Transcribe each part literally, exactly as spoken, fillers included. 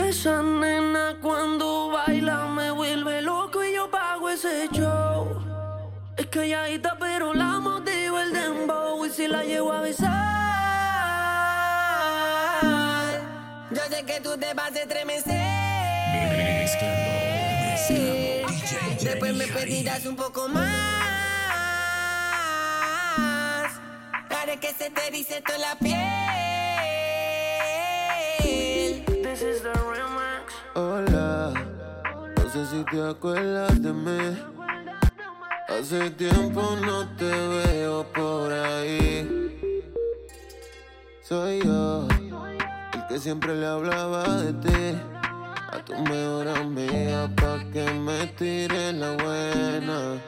Esa nena cuando baila me vuelve loco y yo pago ese show. Es calladita pero la motivo el dembow y si la llevo a besar. Yo sé que tú te vas a estremecer. Después me pedirás un poco más. Haré que se te erice toda la piel. This is the remix. Hola, no sé si te acuerdas de mí. Hace tiempo no te veo por ahí. Soy yo, el que siempre le hablaba de ti a tu mejor amiga pa' que me tire la buena.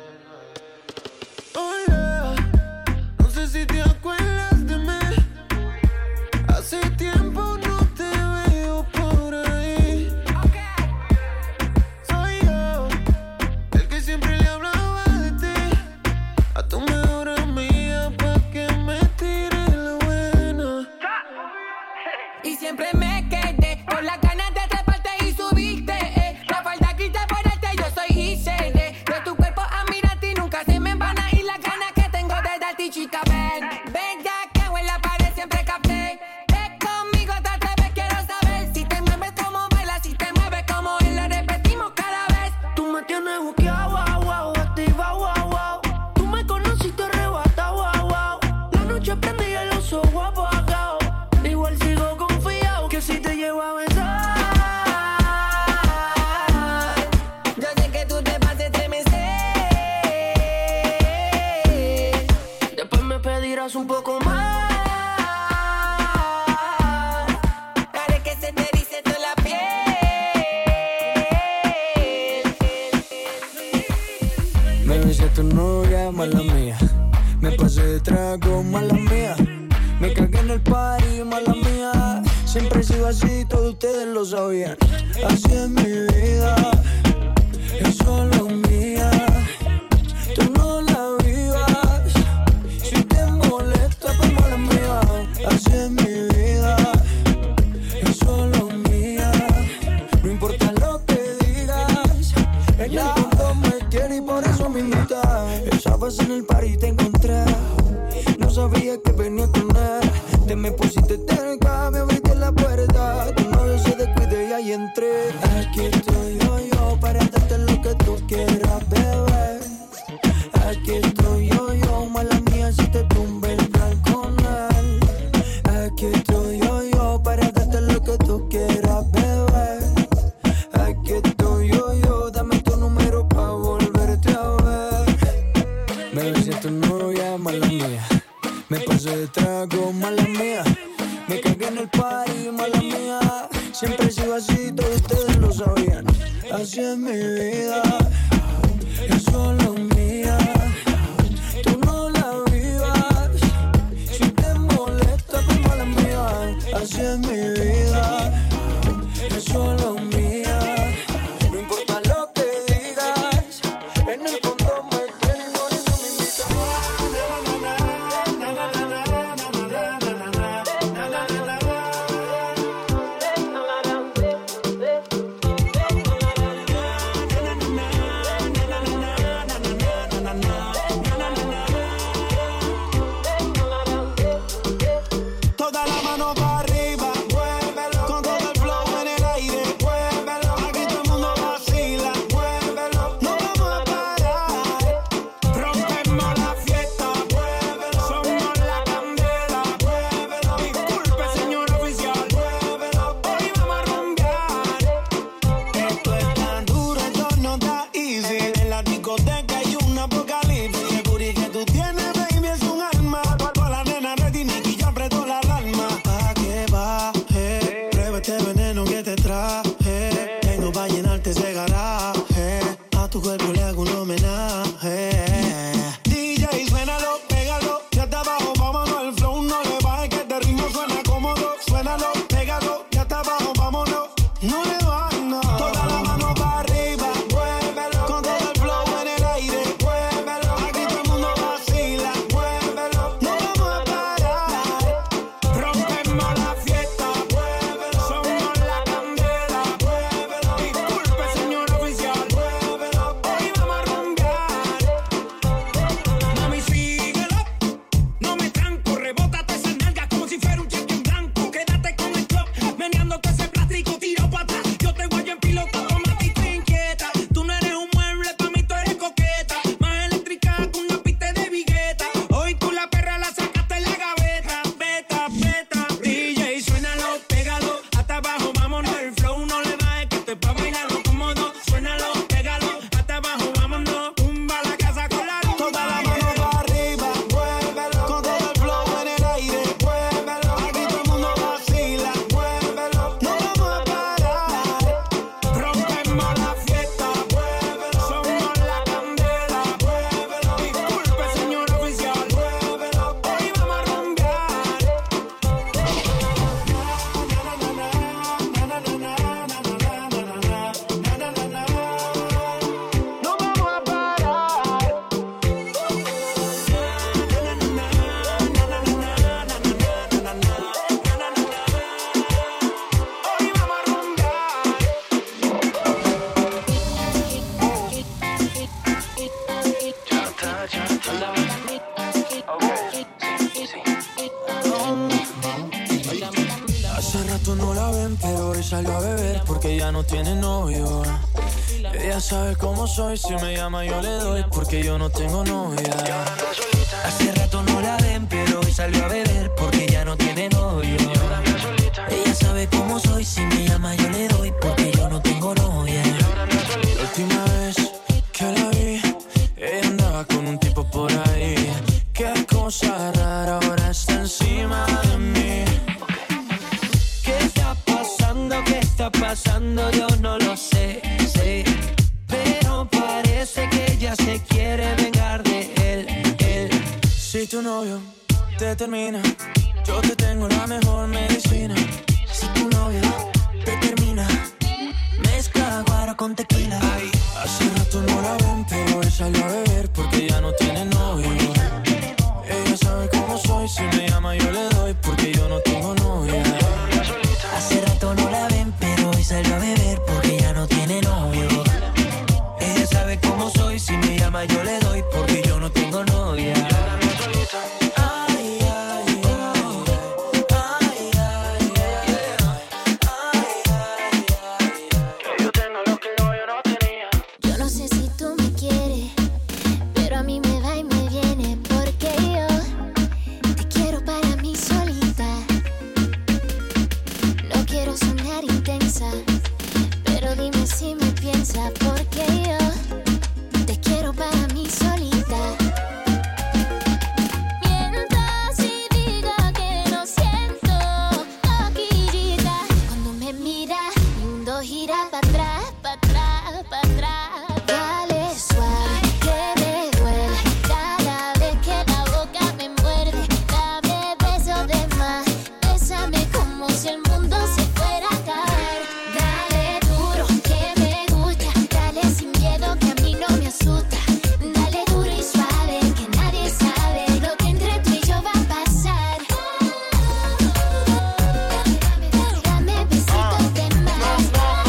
Hola, no sé si te acuerdas de mí. Hace tiempo no te veo por ahí. Soy yo, el que siempre le hablaba de ti a tu mejor amiga pa' que me tire la buena. Y siempre me quedé con las ganas de treparte y subirte. Eh. La falda quita por este, yo soy I C D. De tu cuerpo a mirarte y nunca se me van a ir las ganas que tengo de darte, chica. Ven, ven ya que en la pared siempre capté. Ven conmigo, te atreves, quiero saber si te mueves como bailas, si te mueves como él, lo repetimos cada vez. Tú me tienes buqueado, wow, wow, activa, wow, wow. Tú me conociste arrebatado, wow, wow. La noche prendí y los ojos apagados. Igual sigo confiado que si te llevo a besar. Yo sé que tú te vas a estremecer. Después me pedirás un poco más. Haré que se te erice toda la piel. Baby, si es tu novia, mala mía. Me pasé de trago, mala mía. Me cagué en el party, mala mía. Siempre he sido así, todos ustedes lo sabían. Así es mi vida, es solo mía. Tú no la vivas, si te molesta, pues mala mía. Así es mi vida, es solo mía. No importa lo que digas, en el fondo me quiere y por eso me invita. Estabas en el party y te encontré. No sabía que venía con él. Te me pusiste cerca, me abriste la puerta. Tu novio se descuide y ahí entré. Aquí estoy yo, yo, para darte lo que tú quieras, bebé. Aquí estoy yo, yo, mala mía, si te tumbe el plan con él. Aquí estoy yo, yo, para darte lo que tú quieras, bebé. Aquí estoy yo, yo, dame tu número pa' volverte a ver. Bebé, si es tu novia, mala mía. Me pasé de trago, mala mía. Me cagué en el party, mala mía. Siempre he sido así, todos ustedes lo sabían. Así es mi vida, es solo mía. Tú no la vivas, si te molesta, pues mala mía. Así es mi vida, es solo mía. No importa lo que digas, en el fondo me tienes, por eso me invitas. Toda la mano para arriba, Hace rato no la ven, pero hoy salió a beber porque ya no tiene novio. Ella sabe cómo soy, si me llama yo le doy porque yo no tengo novia. Hace rato no la ven, pero hoy salió a beber porque ya no tiene novio. Ella sabe cómo soy, si me llama yo le doy porque yo no tengo novia. La última vez que la vi, ella andaba con un tipo por ahí. Qué cosa rara, ahora está encima de mí. ¿Qué está pasando? ¿Qué está pasando? Yo no lo sé, sé. Pero parece que ella se quiere vengar de él, él. Si tu novio te termina, yo te tengo la mejor medicina. Si tu novio te termina, mezcla guaro con tequila. Ay, hace rato no la ven, pero hoy salió a beber porque ya no tiene novio. Ella sabe cómo soy, si me llama yo le doy porque yo no tengo novia. Hace rato no la ven, pero hoy salió a beber porque ya no tiene novio. Ella sabe cómo soy, si me llama yo le doy porque yo no tengo novia. Ay, ay, ay, ay, ay, ay, que yo tengo lo que el novio no tenía. Yo no sé si tú me quieres, pero a mí me va y me viene porque yo te quiero para mí solita. No quiero sonar intensa, pero dime si me piensas porque yo te quiero para mí solita. Mientras y diga que no siento coquillita. Cuando me mira, mi mundo gira para atrás, para atrás, para atrás. Dale suave, que me duele cada vez que la boca me muerde. Dame besos de más, bésame como si el mundo se fuera a caer. Dale duro, que me gusta, dale sin miedo que a mí no me asusta. Dale duro y suave, que nadie sabe lo que entre tú y yo va a pasar. Dame besitos de más,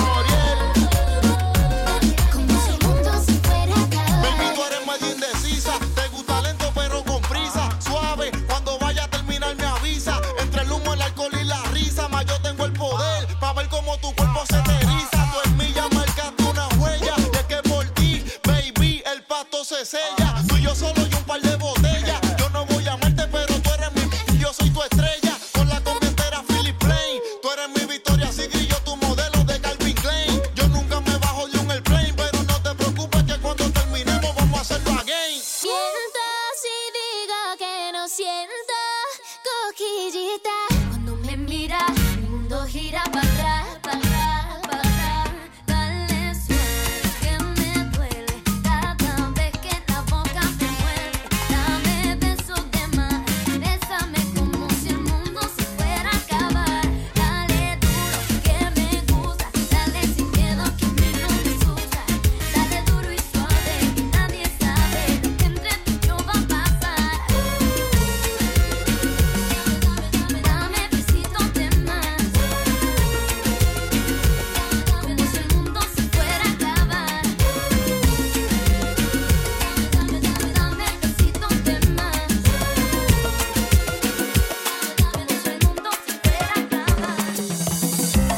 como si el mundo se fuera a acabar. Baby, tú eres medio indecisa, te gusta lento pero con prisa. Suave, cuando vaya a terminar me avisa. Entre el humo, el alcohol y la risa, más yo tengo el poder pa' ver cómo tu cuerpo se te eriza. Tú en mí ya marcaste una huella, y es que por ti, baby, el pasto se sella. Tú y yo solo y un par de botellas. Yo no voy a amarte, pero tú eres mi, yo soy tu estrella. Con la combientera Philip Plain, tú eres mi Victoria Secret y yo tu modelo de Calvin Klein. Yo nunca me bajo de un airplane, pero no te preocupes que cuando terminemos vamos a hacerlo again. Mientras y diga que no siento coquillita. Cuando me mira, mi mundo gira para atrás, para atrás, para atrás. Dale suave, que me duele cada vez que la boca me muerde. Dame besos de más, bésame como si el mundo se fuera a acabar. Dale duro, que me gusta, dale sin miedo que a mí no me asusta. Dale duro y suave, que nadie sabe lo que entre tú y yo va a pasar. Dame besitos de más, como si el mundo se fuera a acabar. Dame besitos de más, como si el mundo se fuera a acabar.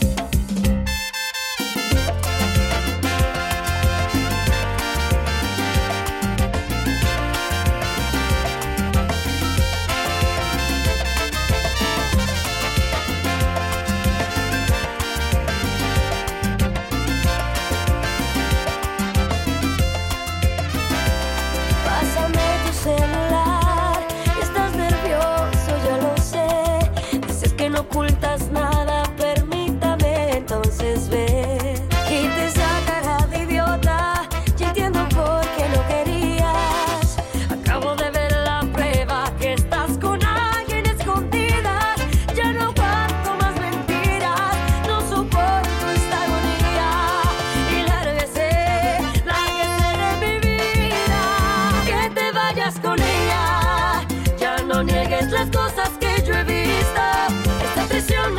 Pásame tu celular, estás nervioso, ya lo sé. Dices que no ocultas nada, permítame entonces ver. Quita esa cara de idiota, ya entiendo por qué no querías. Acabo de ver la prueba que estás con alguien escondida. Ya no aguanto más mentiras, no soporto esta agonía. Y lárguese, lárguese de mi vida. Que te vayas con ella, ya no niegues las cosas que yo he visto. Esta presión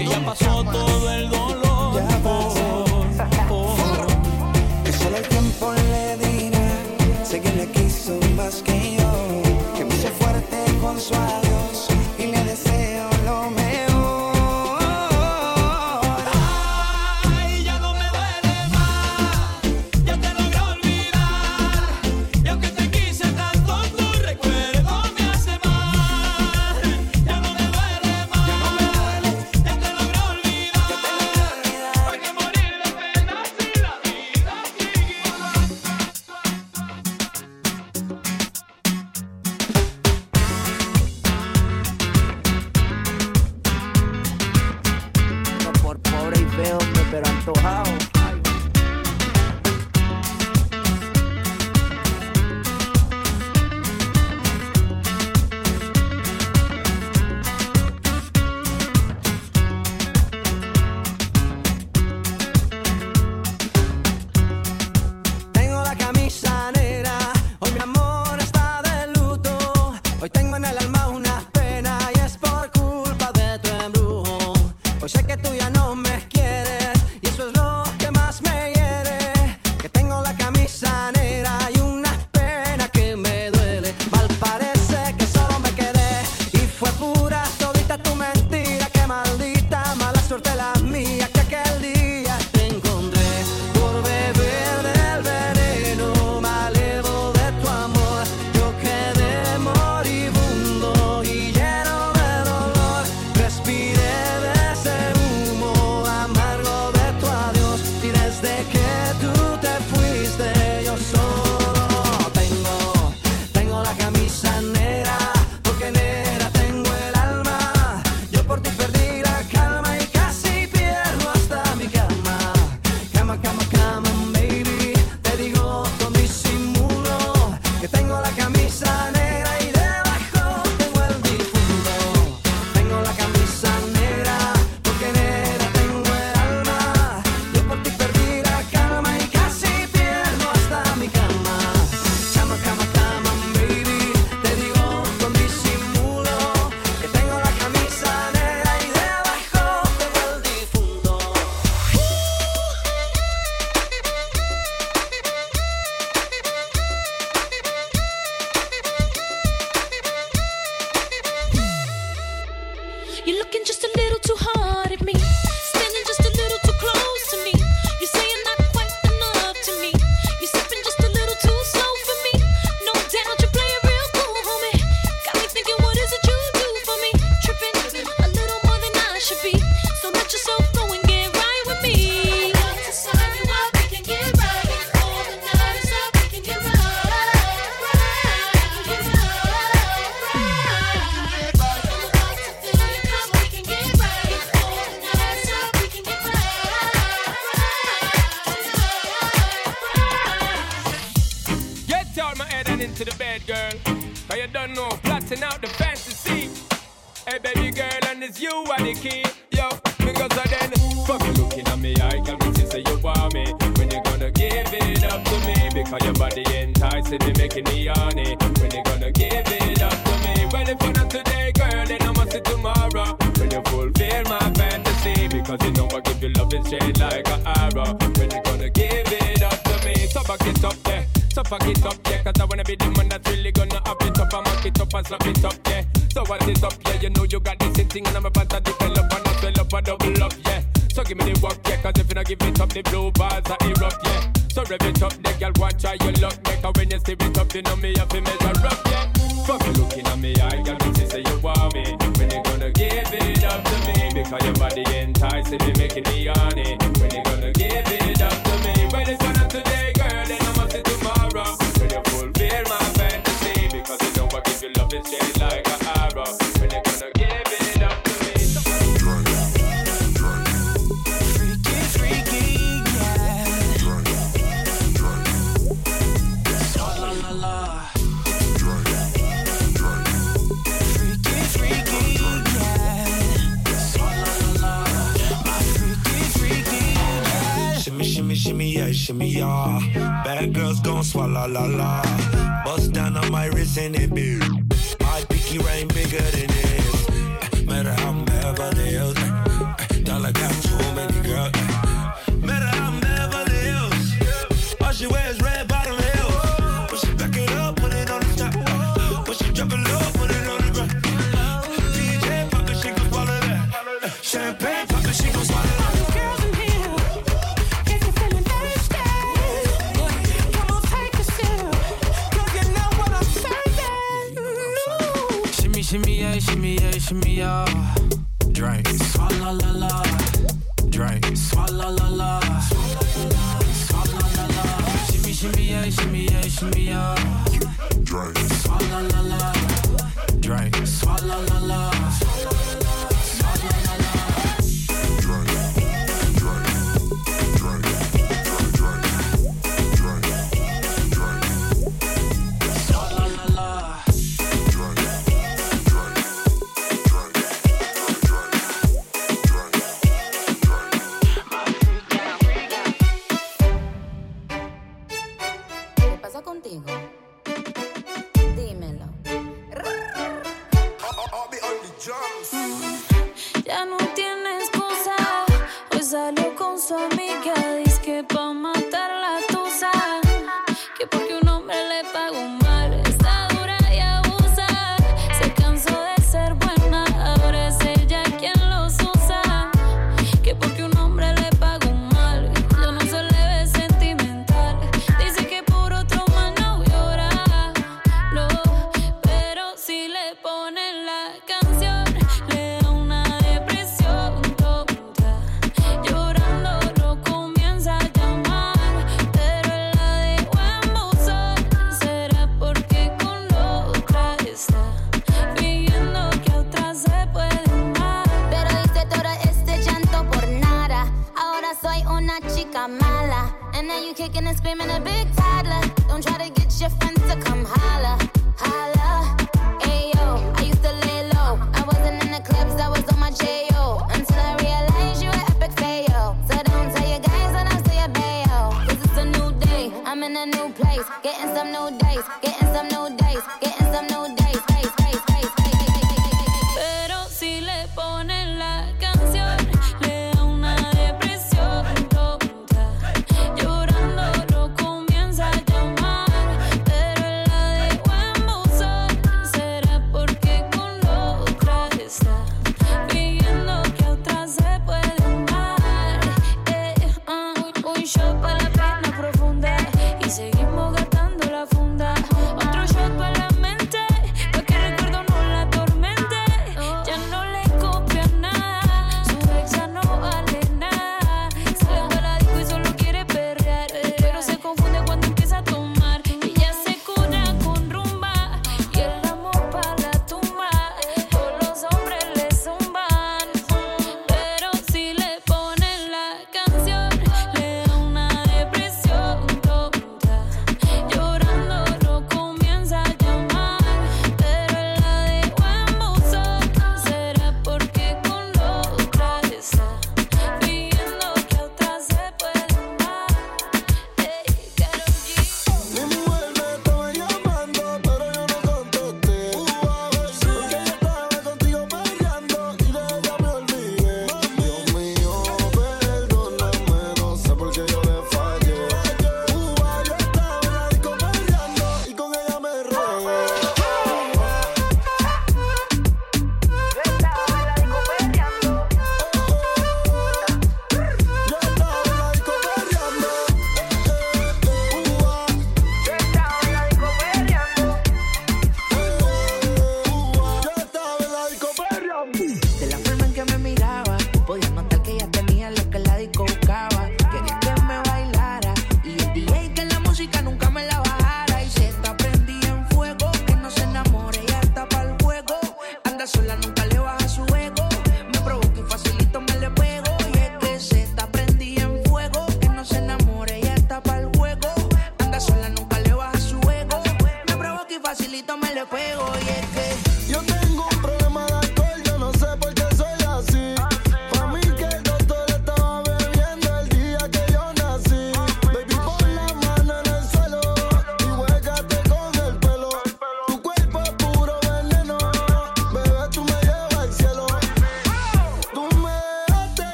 que ya pasó todo el dolor. Ya pasó. Oh, oh. Que solo el tiempo le dirá. Sé que le quiso más que yo. Que me hizo fuerte con su adiós. Y le deseo lo mejor. Ay, ya no me duele más. Ya te logré olvidar. Y aunque te quise tanto, tu recuerdo me hace mal. Ya no me duele más. Ya te logré olvidar. ¿Para qué morir de pena si la vida sigue igual? No por pobre y feo, pero antojado. Tengo la camisa negra, hoy mi amor está de luto. Hoy tengo en el alma una pena y es por culpa de tu embrujo. Hoy sé que tú ya no me quieres y eso es lo que más me hiere. Que tengo la camisa negra y una pena que me duele. Mal parece que solo me quedé y fue pura todita tu mentira. Qué maldita mala suerte la mía que aquel día te encontré. Por beber del veneno malevo de tu amor, yo quedé moribundo y lleno de dolor. Respiré de ese humo amargo de tu adiós y desde que tú te fuiste yo solo tengo, tengo la camisa negra, porque negra tengo el alma. Yo por ti perdí la calma y casi pierdo hasta mi cama. Cama, cama, cama, baby, te digo con disimulo que tengo la camisa negra y debajo tengo el difunto. Tengo la camisa negra, porque negra tengo el alma. Yo por ti perdí la calma y casi pierdo hasta mi cama. Cama, cama, cama, baby, te digo con disimulo que tengo la camisa negra y debajo tengo el difunto. You're looking just a little too hard at me, standing just a little too close to me. You say you're not quite enough to me. You're stepping just a little too slow for me. No doubt you play it real cool, homie. Got me thinking, what is it you do for me? Tripping a little more than I should be. So let yourself go and get right with me. To sign you up, we can get right. All the night is up, we can get right. Right, get right. Get out my head and into the bed, girl. Cause you don't know, plotting out the fantasy. Hey, baby girl, and it's you are the key. Yo, because of then, fuck you looking at me, I can see say you want me. When you gonna give it up to me? Because your body enticing me, making me horny. When you gonna give it up to me? Well, if you're not today, girl, then I must see tomorrow. When you fulfill my fantasy. Because you know I give you love and shade like an arrow. When you gonna give it up to me? So back it up, yeah. So fuck it up, yeah. Cause I wanna be the man that's really gonna up it up and mock it up and slap it up, yeah. So what is up, yeah? You know you got this thing and I'm about to develop and I swell up and double up, yeah. So give me the work, yeah. Cause if you don't give it up, the blue bars are erupt, yeah. So rev it up, the girl watch how you look. Make her when you see it up, you know me have to measure up, yeah. Fuck you looking at me, I got me say you want me. When you gonna give it up to me? Because your body enticing me, making me horny. When you gonna give it up to me? Well, it's not today, girl, then I must see tomorrow. When you fulfill my fantasy. Because you know I give you love and shade like an arrow. When you gonna give it up to me? Freaky, freaky, yeah. La la la. Freaky, freaky, yeah. La la la. My freaky, freaky, yeah. Shimmy, shimmy, shimmy, yeah, shimmy, yeah. Bad girls gon' swallow la la. Bust down on my wrist and it big. My pinky ring bigger than this. Matter how I'm Beverly Hills. She goes swalla la la. Girls in here, if you're feeling thirsty, come on, take a sip, 'cause you know what I'm saying. Ooh. Shimmy, shimmy, yeah, shimmy, yeah, shimmy, yeah. Drink, swalla la la. Drink, swalla la la. Swalla la la. Shimmy, shimmy, yeah, shimmy, yeah, shimmy, yeah. Drink, swalla la la. Drink, swalla la la. Swalla la la. Drink, drink, drink, drink, drink, drink, drink. Swalla la la. Drink, drink, drink, drink, drink. ¿Qué pasa contigo? Dímelo. Ya no tiene excusa. Hoy salió con su amiga. Dice que pa' matar la tusa. Que porque un hombre le pagó mal. Está dura y abusa. Se cansó de ser buena. Ahora es ella quien los usa. Que porque un hombre le pagó mal. Yo no se le ve sentimental. Dice que por otro más no llora. No, pero si le ponen la canción, le da una depresión tonta. Llorando lo comienza a llamar, pero él la dejó en buzón. Será porque con otra está fingiendo que a otra se puede amar. Pero hice todo este llanto por nada. Ahora soy una chica mala. And now you kicking and screaming a big toddler. Don't try to get your friends to come holla, holla. Ayo, I used to lay low. I wasn't in the clubs, I was on my J O. Until I realized you were epic fail. So don't tell your guys and I'll tell your bayo. 'Cause it's a new day, I'm in a new place. Getting some new days, getting some new days, getting some new days.